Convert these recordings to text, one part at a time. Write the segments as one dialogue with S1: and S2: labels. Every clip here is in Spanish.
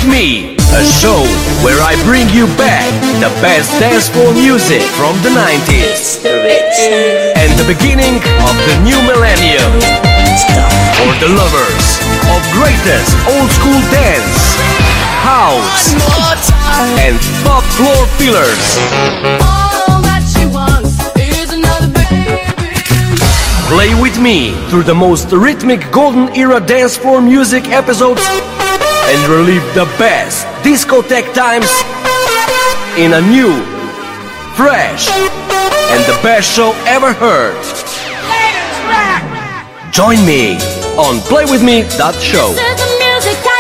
S1: Me, a show where I bring you back the best dance floor music from the 90s and the beginning of the new millennium. For the lovers of greatest old school dance, house, and pop floor fillers.
S2: All that she wants is another baby.
S1: Play with me through the most rhythmic golden era dance floor music episodes and relive the best discotheque times in a new, fresh, and the best show ever heard. Join me on playwithme.show.
S2: This is the music I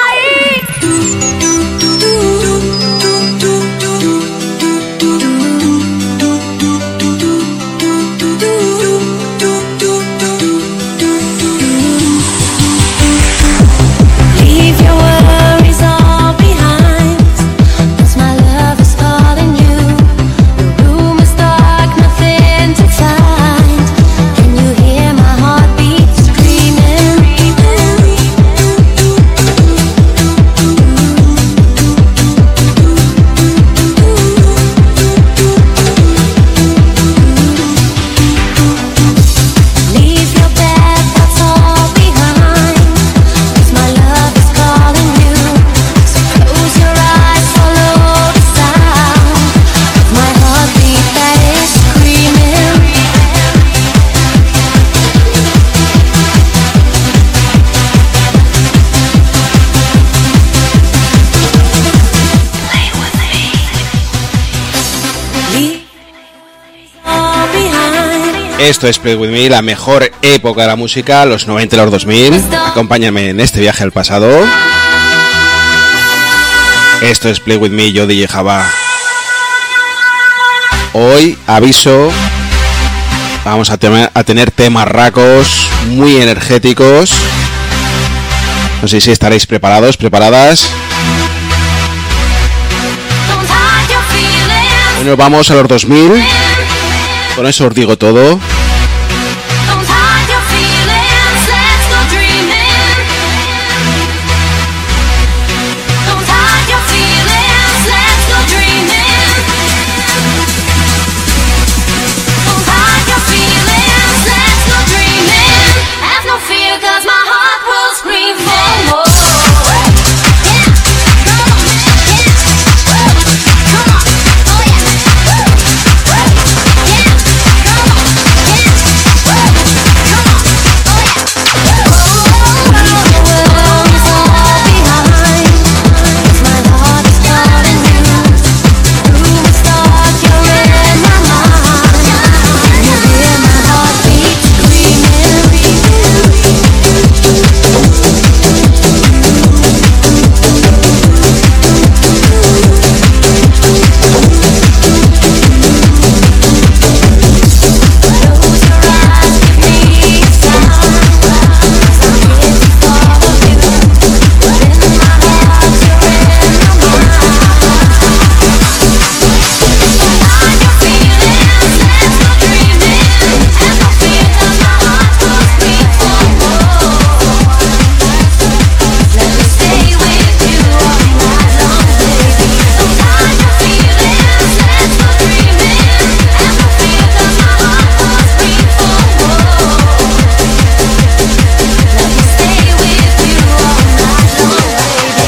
S3: Leave your worries all behind, 'cause my love is calling you. The room is dark, nothing to find. Can you hear my heartbeat screaming? Leave your bad thoughts all behind, 'cause my love is calling you. So close your eyes, follow the sound of my heartbeat that is screaming. Play with me. Leave all behind.
S4: Esto es Play With Me, la mejor época de la música, los 90 y los 2000. Acompáñame en este viaje al pasado. Esto es Play With Me, yo DJ Java. Hoy, aviso, vamos a tener temas racos, muy energéticos. No sé si estaréis preparados, preparadas.
S3: Don't hide your feelings.
S4: Bueno, vamos a los 2000. Con eso os digo todo.
S3: Don't hide your feelings. Let's go dreaming. Don't hide your feelings. Let's go dreaming. Don't hide your feelings. Let's go dreaming. Have no fear, 'cause my heart will scream for more. Yeah, come on, yeah, come on, oh yeah, yeah, come on, yeah, come on, oh yeah. The world is all behind, 'cause my heart is calling you. Room is dark, you're in my mind. You hear my heartbeat screaming. Close your eyes, give me a sign, 'cause I'm here to follow you. But in my heart, you're in my mind. Hide your feelings, let's go dreaming. Have no fear, 'cause my heart will scream for more. Let me stay with you all night long, baby. Don't hide your feelings, let's go dreaming. Have no fear, 'cause my heart will scream for more. Let me stay with you all night long, baby.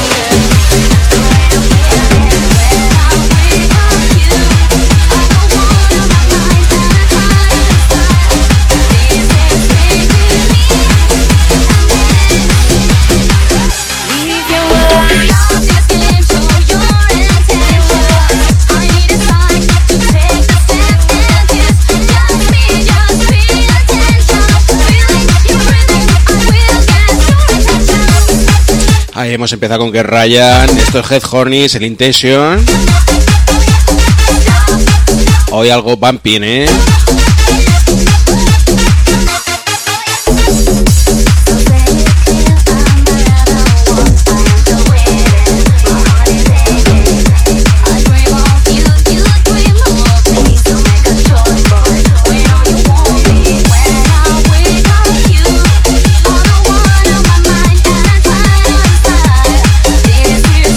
S3: Leave your worries. Just show your intention. All you need is time to take a step and kiss. Just pay attention. Feeling your rhythm, I will get your attention.
S4: Ahí hemos empezado con que Ryan. Esto es Head Hornies, el Intention. Hoy algo bumping, ¿eh?
S3: This is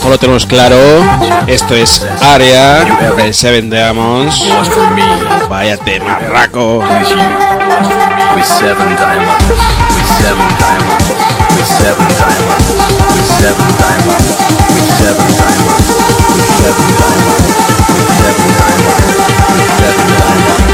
S4: mejor lo tenemos claro. Esto es Area del Seven Diamonds. Vaya temarraco.
S1: With seven diamonds, with seven diamonds, with seven diamonds, with seven diamonds, with seven diamonds, with seven diamonds, with seven diamonds, with seven diamonds.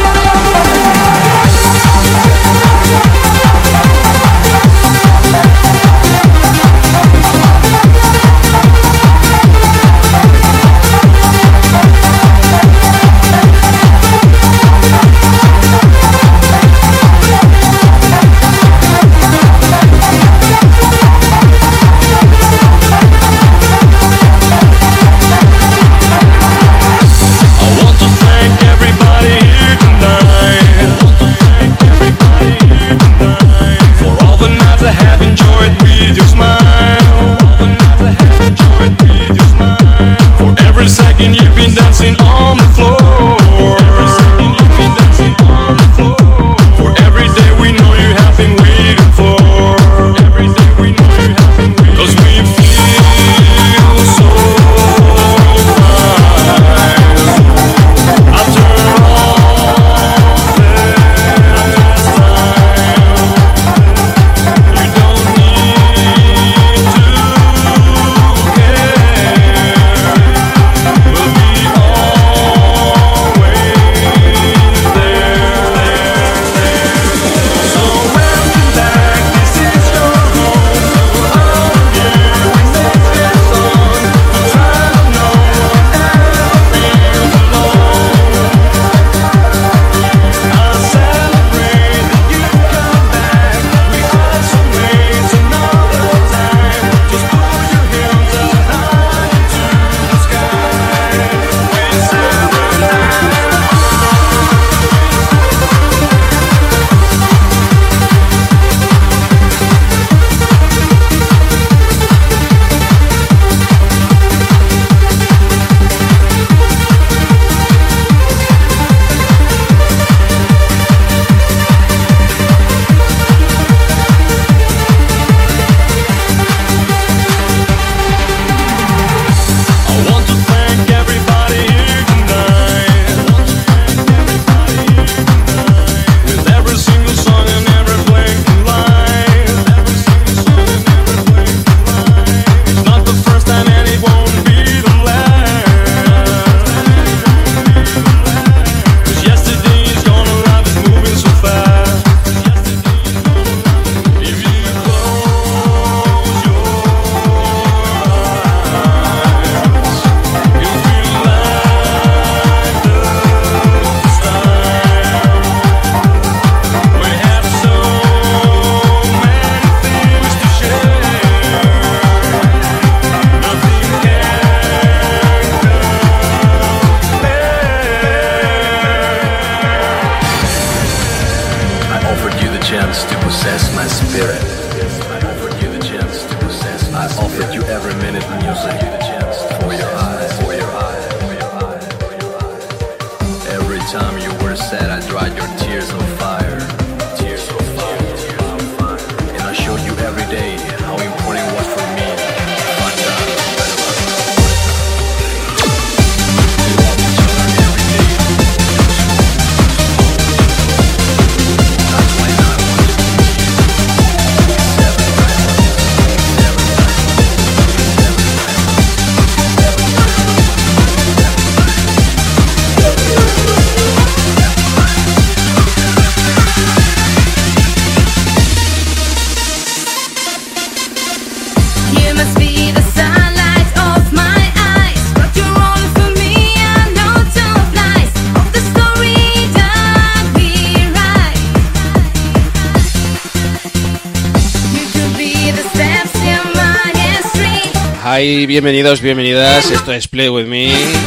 S4: Hi, bienvenidos, bienvenidas. Esto es Play With Me.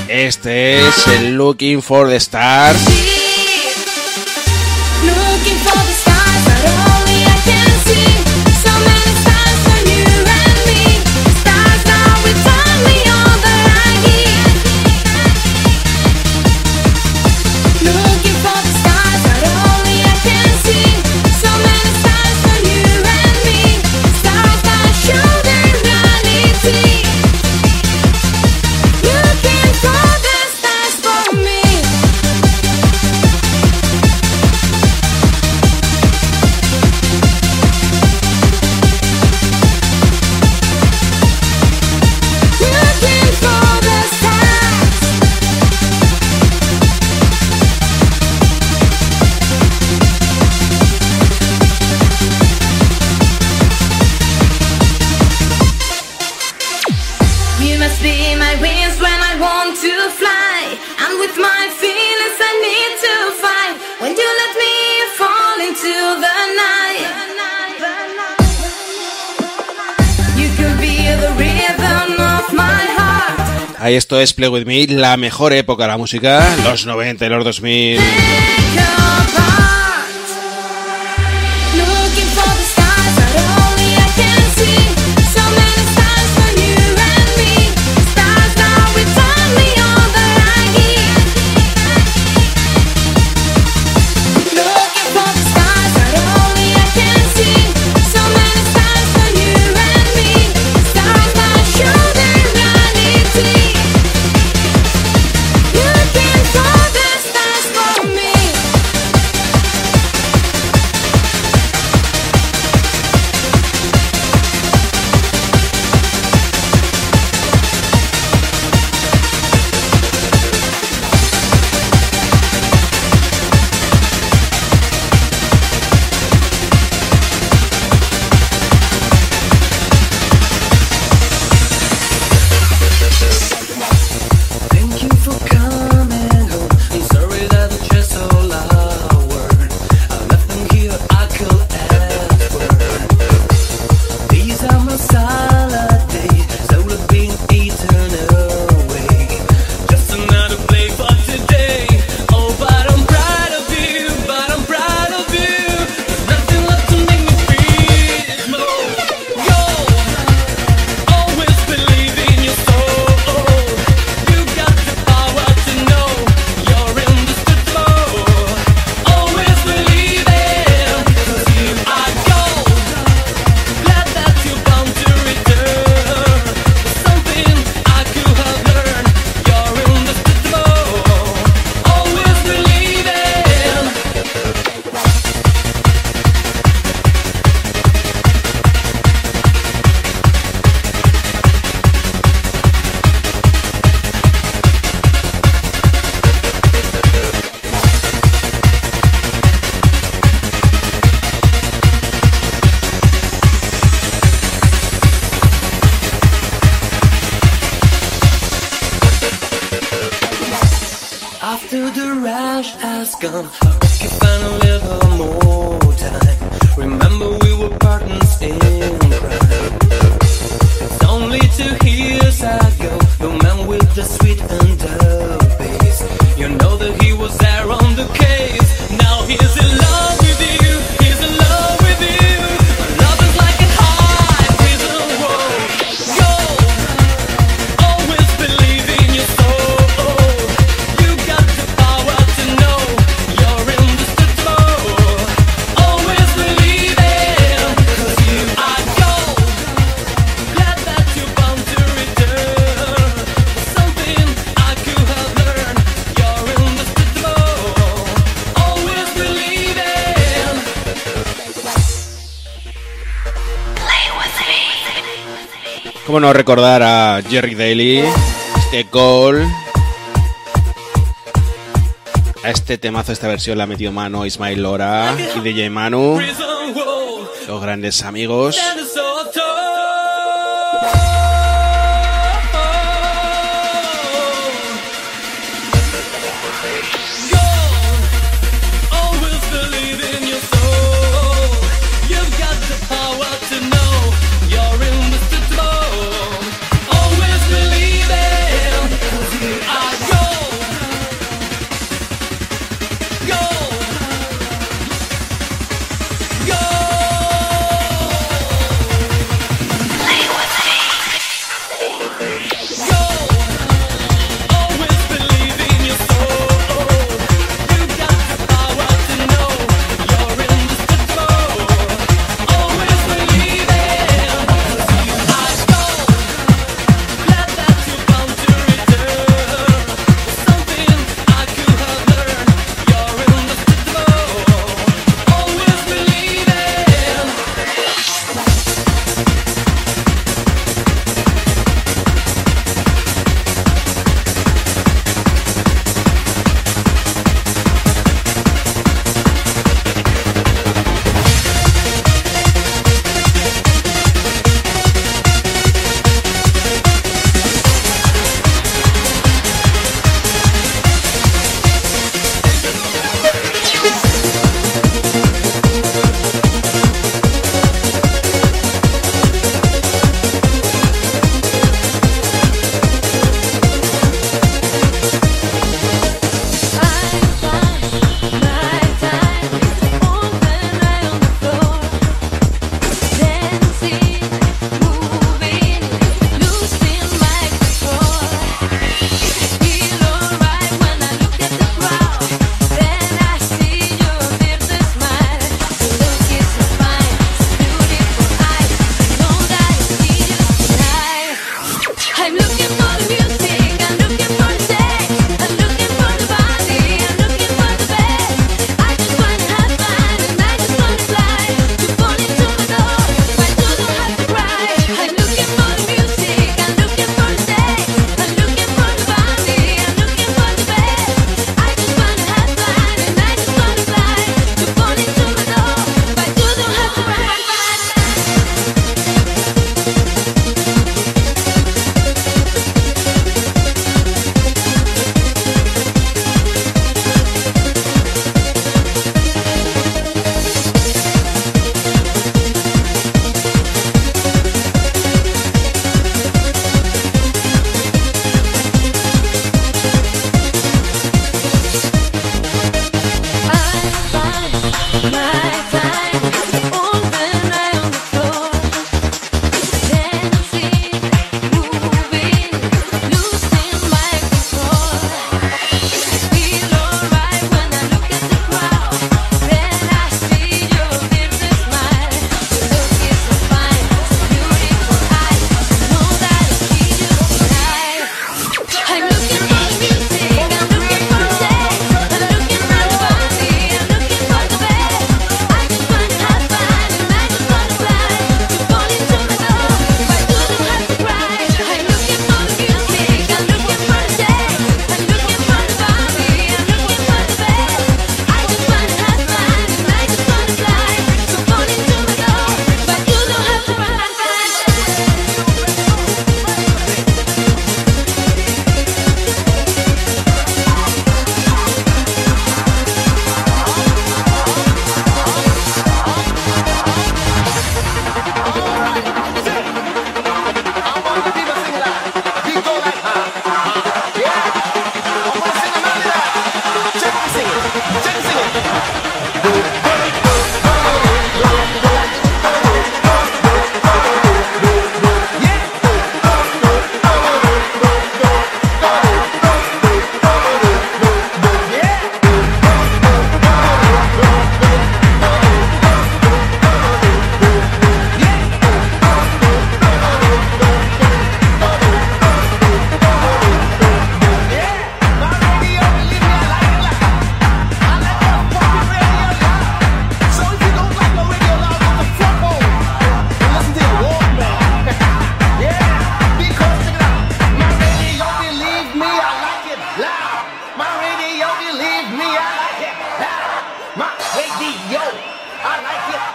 S4: Este es el Looking for the Stars.
S3: Looking for the stars, but only I can see. So many stars for you and me. Stars that will turn me on the light. Looking for the stars, but only I can see. So many stars for you and me. Stars that show the reality.
S4: Ahí esto es Play With Me, la mejor época de la música, los 90 y los 2000.
S3: Looking for the stars that only I can see. So many stars for you and me. Stars now return me all that I give. Looking for the stars that only I can see. So many stars for you and me. Stars now show their reality. Looking for the stars for me.
S5: Thank you for coming home. I'm sorry that the chairs so loud. I left them here, I could ask for. These are my salad days, slowly being eaten away. Just another play for today. Oh, but I'm proud of you, but I'm proud of you. There's nothing left to make me feel more. Yo, always believe in your soul. You got the power to know you're indestructible. Always believe it, 'cause you are gold. Glad that you're bound to return. Something I could have learned. You're indestructible. Always believe it. After the rush has gone, I hope you find a little more time. Remember we were partners in crime. It's only 2 years ago, the man with the sweet and the bass. You know that he was there on the case. Now he's in love with you, he's in love with you. Love is like a high prison wall. Yo, always believe in your soul. You got the power to know you're indestructible. Always believe it, 'cause you are gold. Glad that you're bound to return. Something I could have learned. You're indestructible. Always believe it.
S4: ¿Cómo no recordar a Jerry Daly, este gol? A este temazo, esta versión la ha metido mano Ismael Lora y DJ Manu,
S5: Prison wall.
S4: los grandes amigos.
S5: Standing so tall. Always believe in your soul. You've got the power to know you're indestructible. Always believe it, 'cause you are gold. Gold. Gold.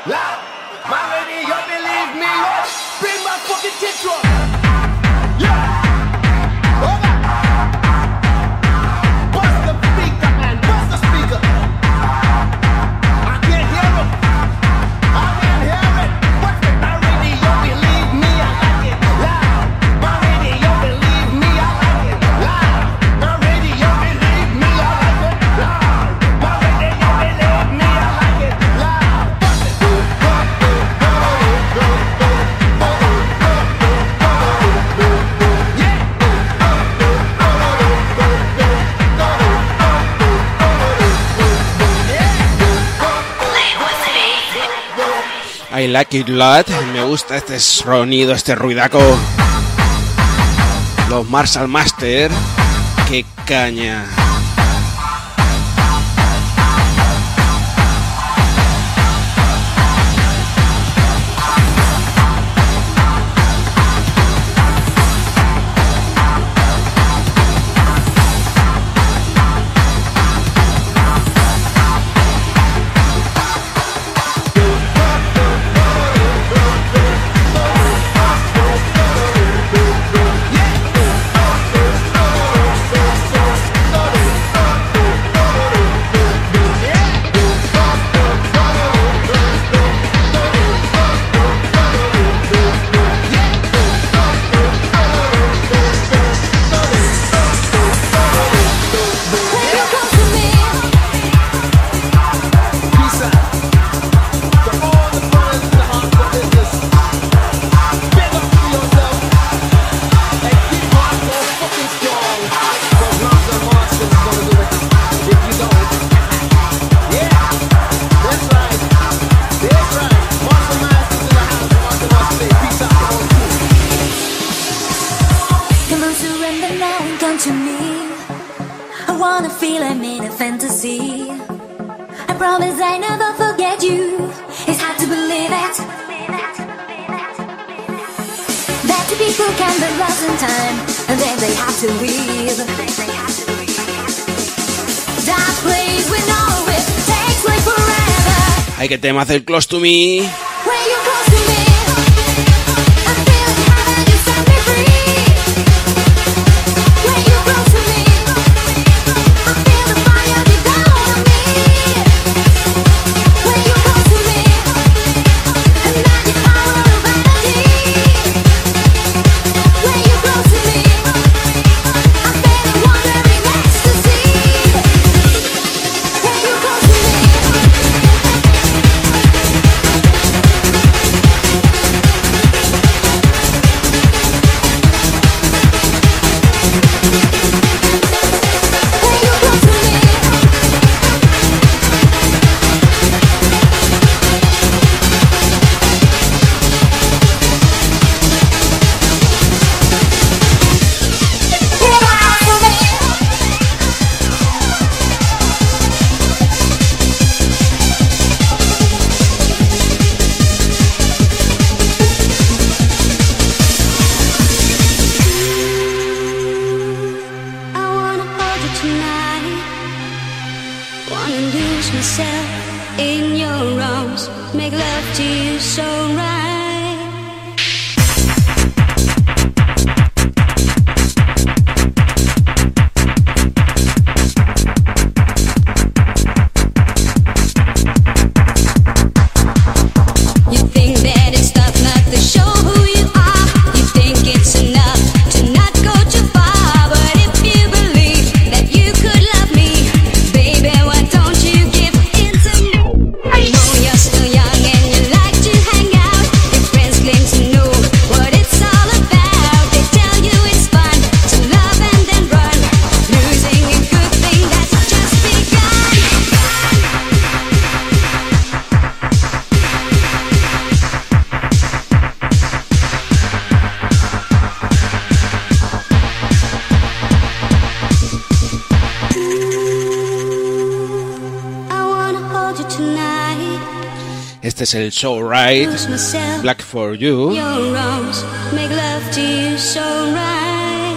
S6: Loud. My lady, you believe me? Bring my fucking tits up. Yeah. Over. Bust the speaker, man. Bust the speaker. I can't hear it. I can't hear it. What's it? My lady, you believe me? I like it. Loud. My lady, you believe me? I like it. Loud. My lady, you believe me? I like it. Loud. My lady, you believe me? I like it. Loud. Bust it.
S4: I like it lot. Me gusta este sonido, este ruidaco. Los Marshall Master. Qué caña.
S3: Come on, surrender now and come to me. I wanna feel I'm in a fantasy. I promise I never forget you. It's hard to believe it. That two people can be lost in time, and then they have to leave. That place we know it takes like forever.
S4: Ay, que tema hace el Close to Me.
S3: When you close to me, I feel the heaven, you set me free. When you close to me, I feel the fire deep down on me. When you close to me, the magic power of energy. When you close to me, I feel the wandering ecstasy. When you close to me. I wanna hold you tonight. Wanna lose myself in your arms. Make love to you so right. You think that it's tough not to show who you are. You think it's enough to not go too far. But if you believe that you could love me, baby, why don't you give in to me? I know you're still young and you like to hang out. Your friends claim to know what it's all about. They tell you it's fun to love and then run, losing a good thing that's just begun. I wanna hold you tonight.
S4: Este es el Show Right.
S3: Lose myself.
S4: Black for You.
S3: Your arms make love to you so right.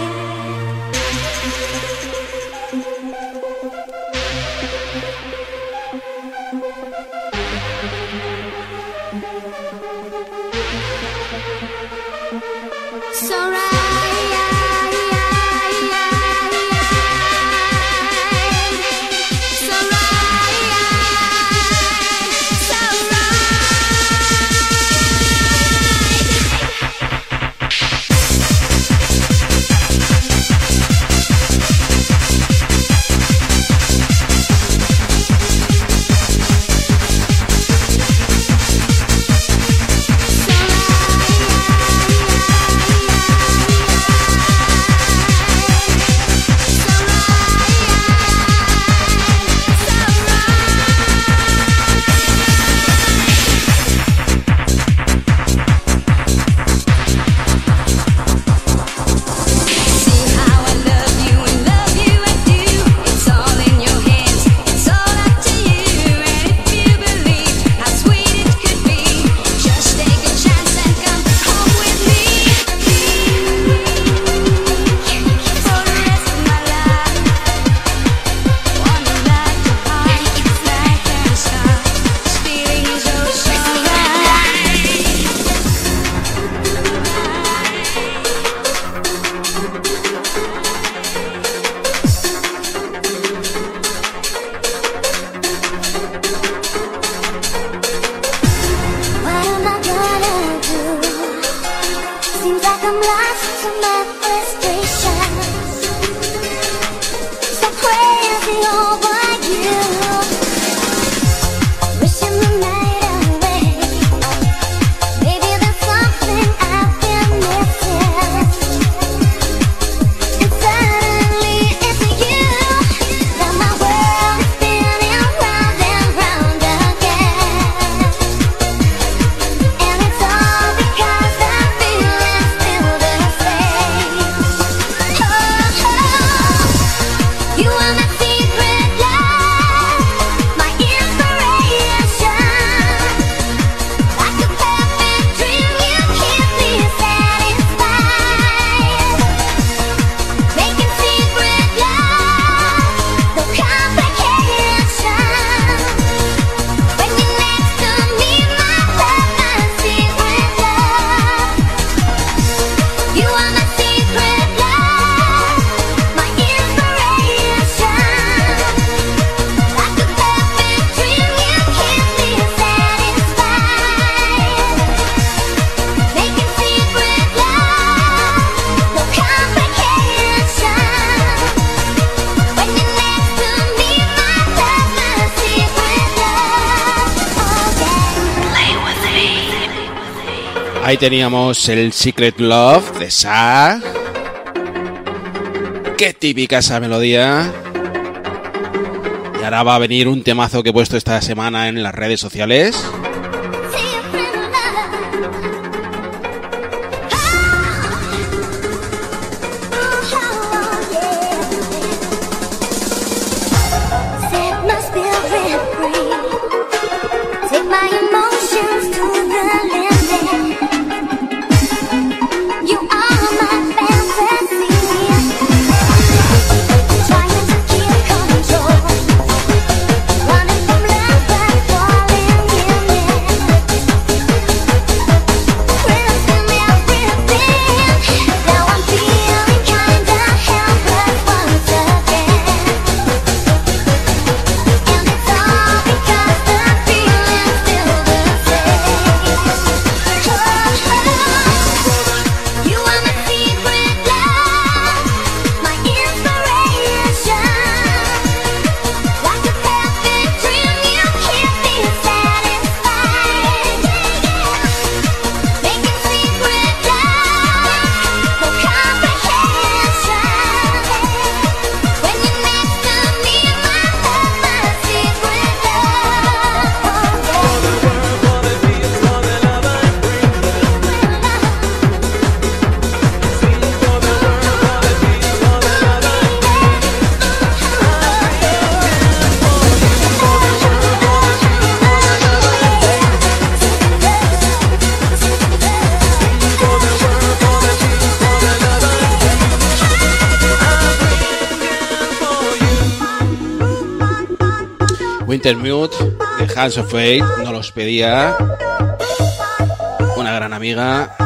S4: Ahí teníamos el Secret Love de Sa. Qué típica esa melodía. Y ahora va a venir un temazo que he puesto esta semana en las redes sociales. Wintermute de Hands of Fate, nos los pedía una gran amiga.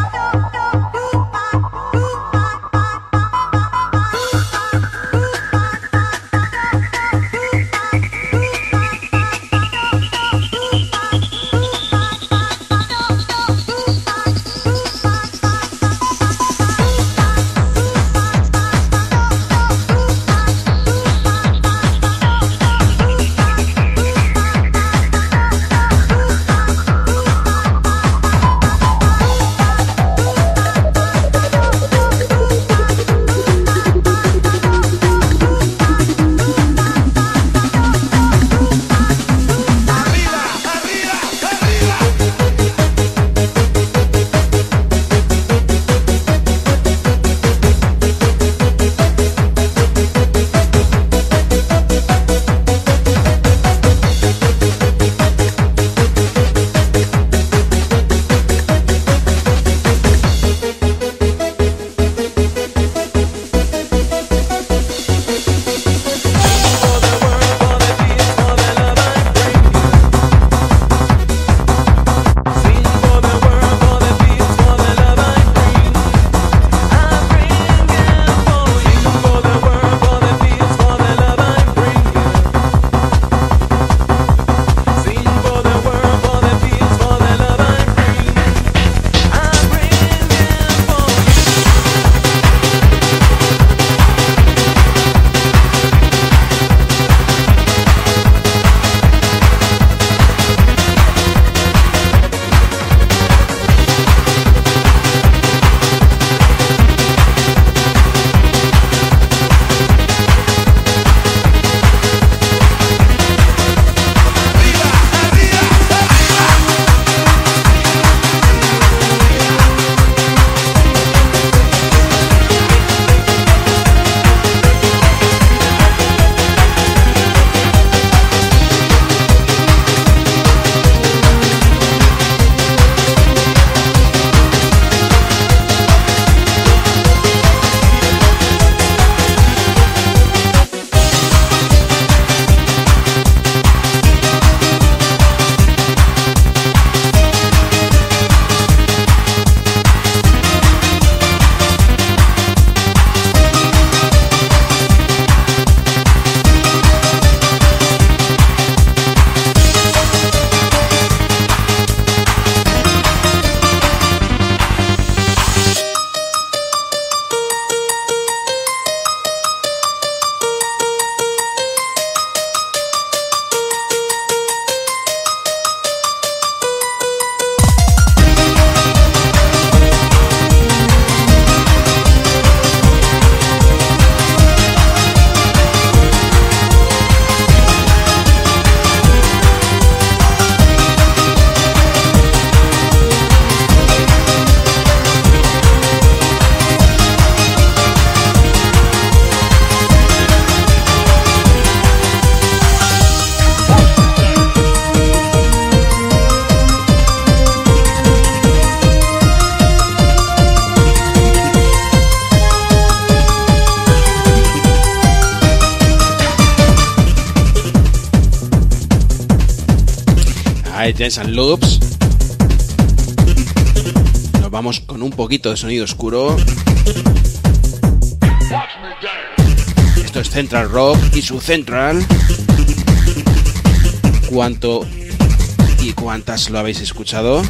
S4: Legends and Loops. Nos vamos con un poquito de sonido oscuro. Esto es Central Rock y su Central. ¿Cuánto y cuántas lo habéis escuchado?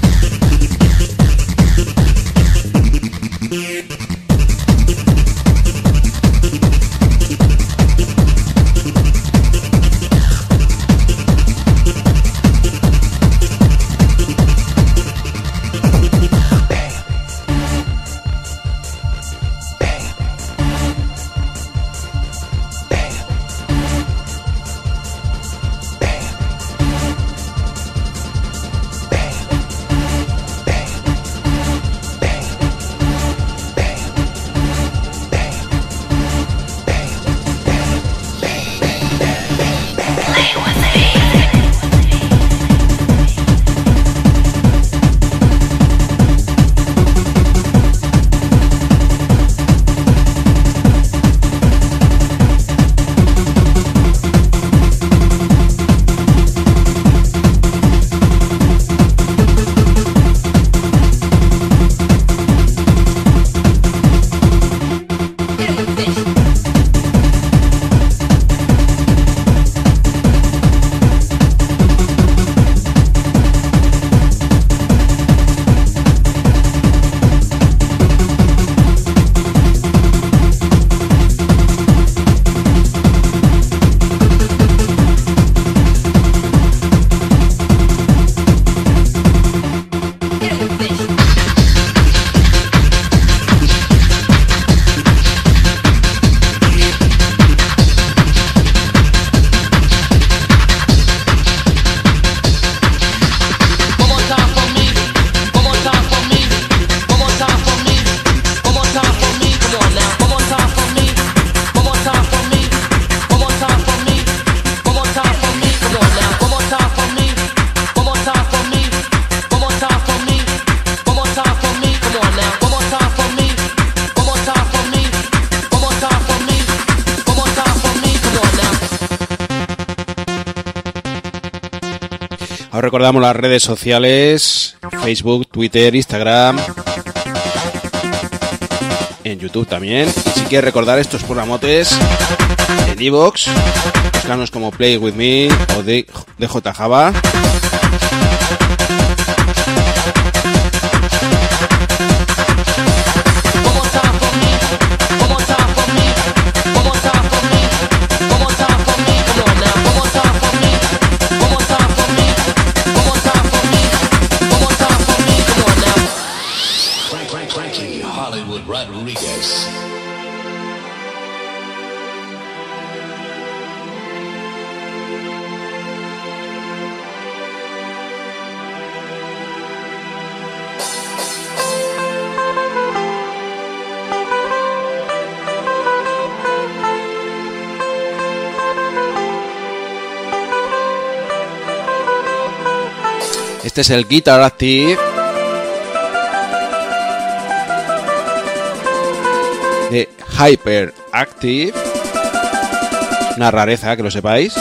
S4: Os recordamos las redes sociales: Facebook, Twitter, Instagram, en YouTube también. Y si quieres recordar estos programotes en iVoox, buscarnos como Play With Me o DJ Java. Este es el Guitar Active de Hyperactive. Una rareza, que lo sepáis.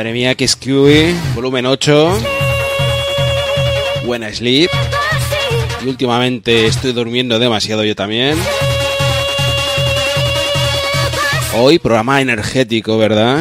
S4: Madre mía, que Screwy, volumen 8. Buena Sleep. Y últimamente estoy durmiendo demasiado yo también. Hoy programa energético, ¿verdad?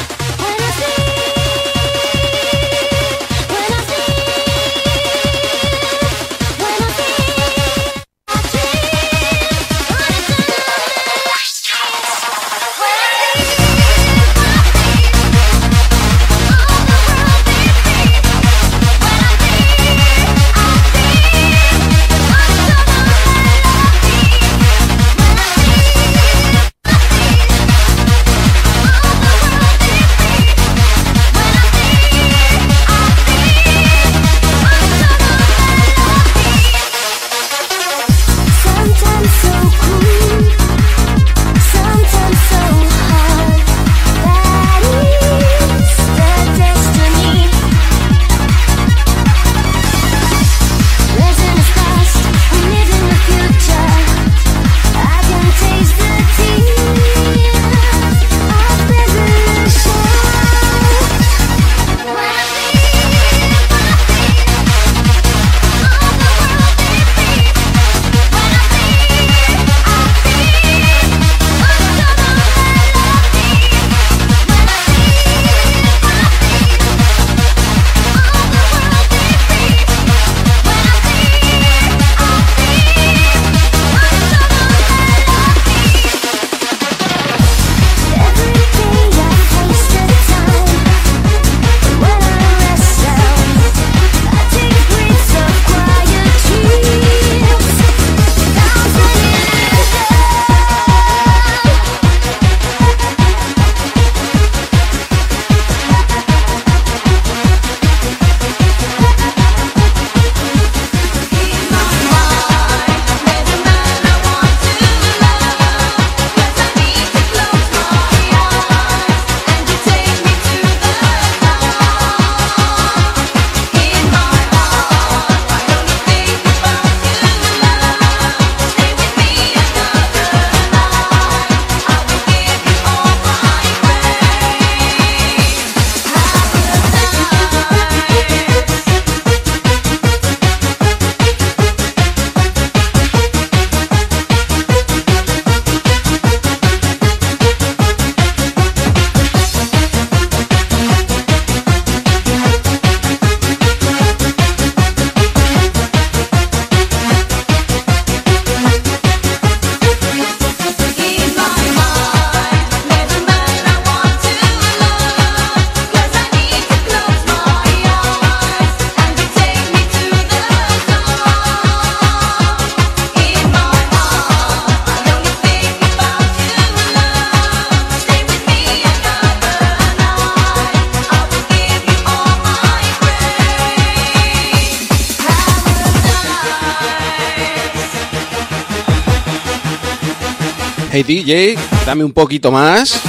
S4: Hey DJ, dame un poquito más.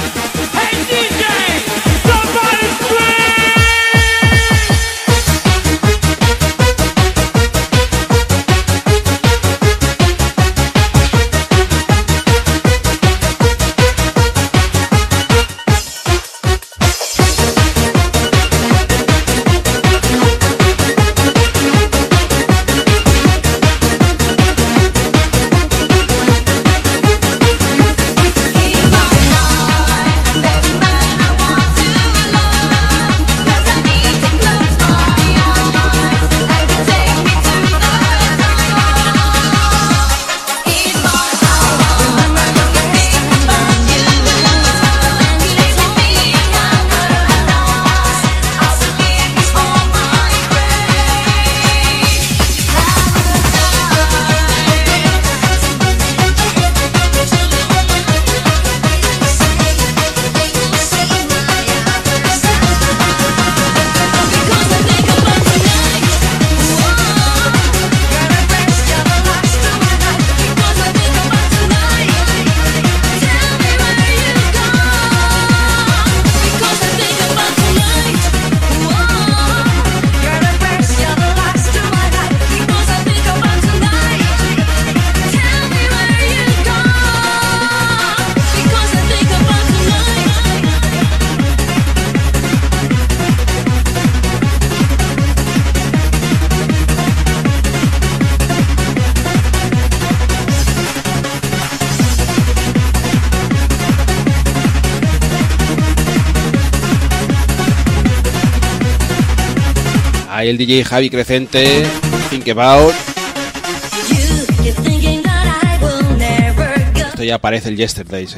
S4: Ahí el DJ Javi Crecente, Think About. Esto ya parece el Yesterdays,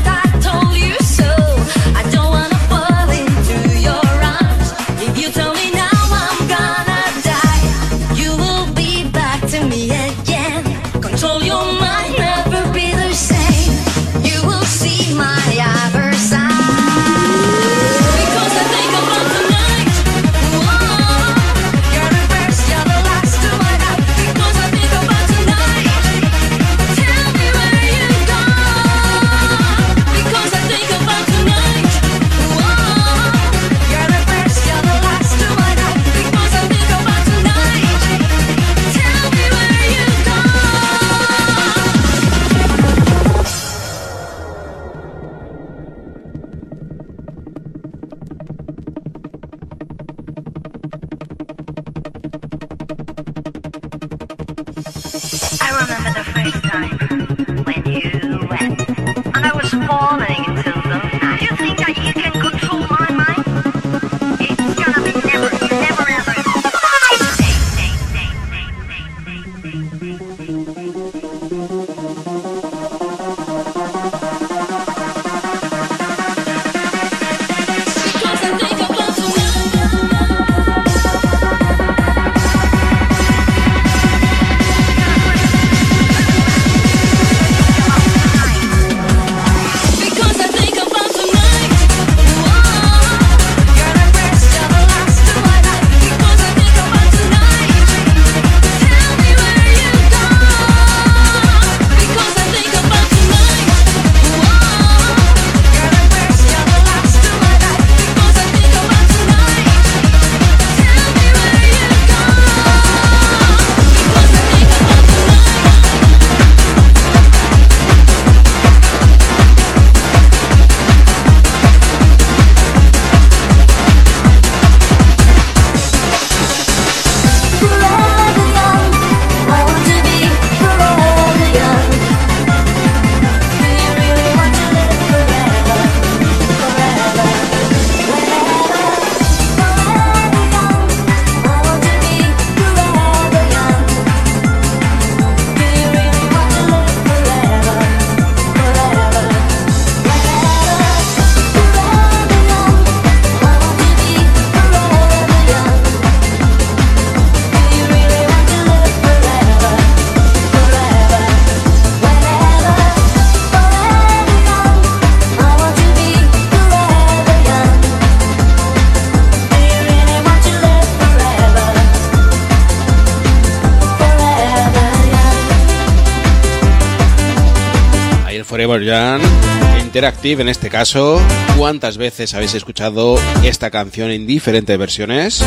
S4: Forever Young, Interactive en este caso. ¿Cuántas veces habéis escuchado esta canción en diferentes versiones?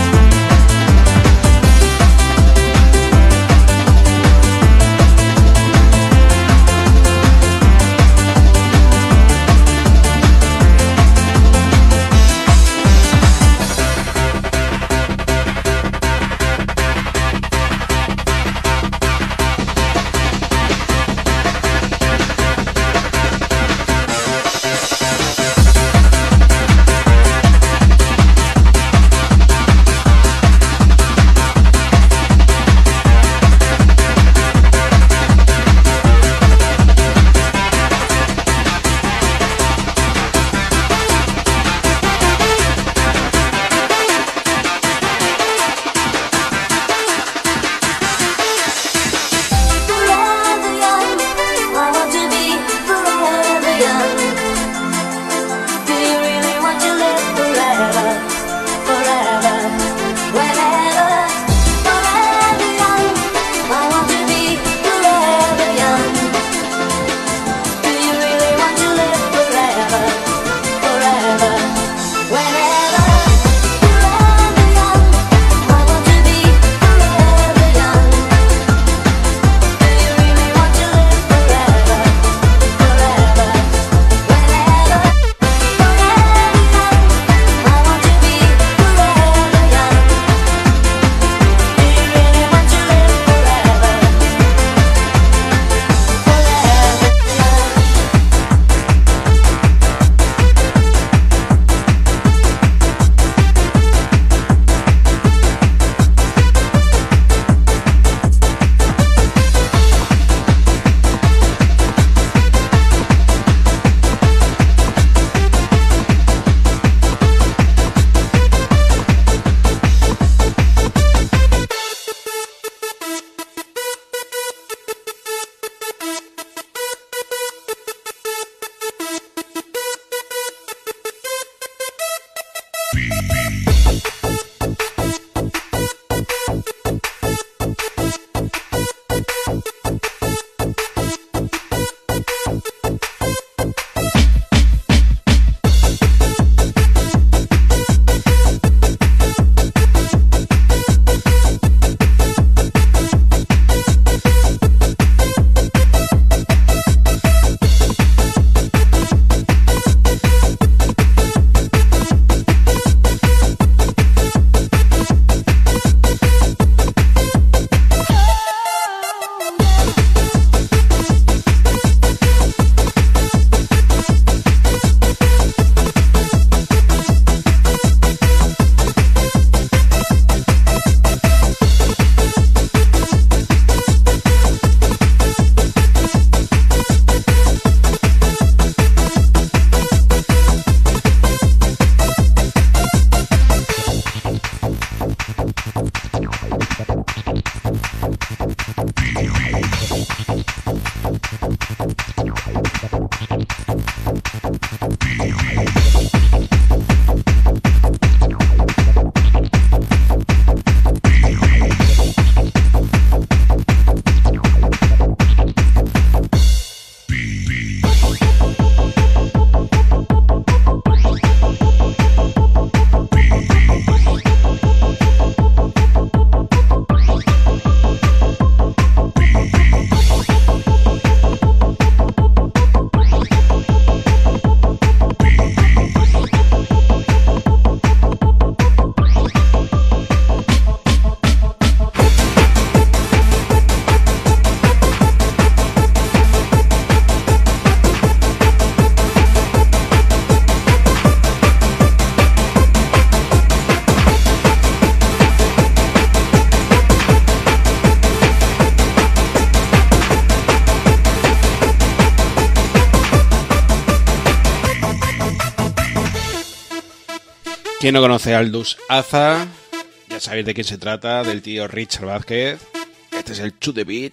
S4: ¿Quién no conoce a Aldous Aza? Ya sabéis de quién se trata, del tío Richard Vázquez. Este es el To The Beat.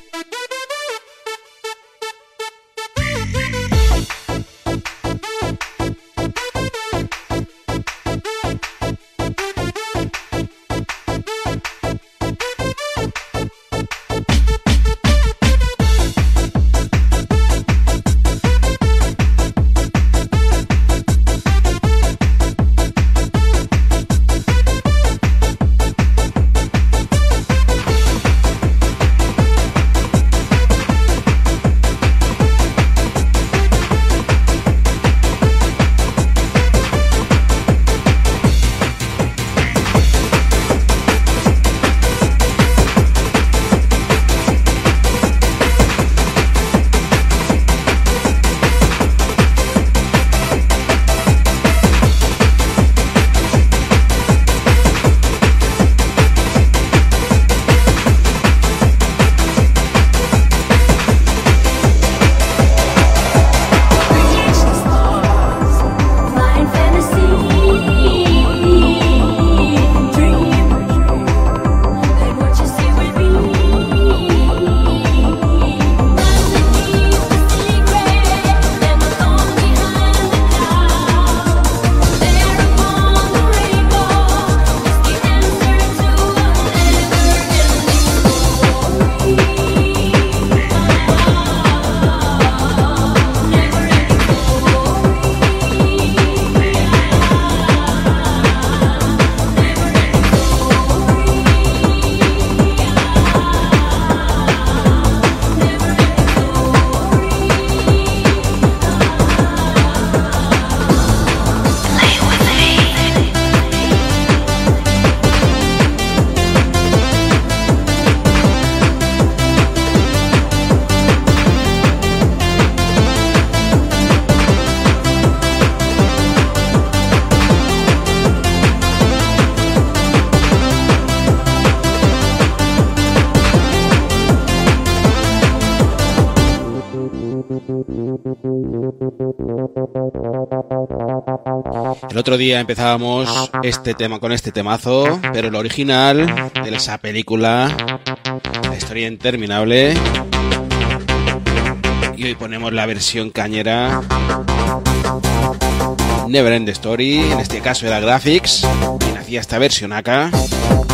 S4: El otro día empezábamos este tema con este temazo, pero el original de esa película, La historia interminable. Y hoy ponemos la versión cañera, Never End the Story. En este caso era Graphics quien hacía esta versión acá.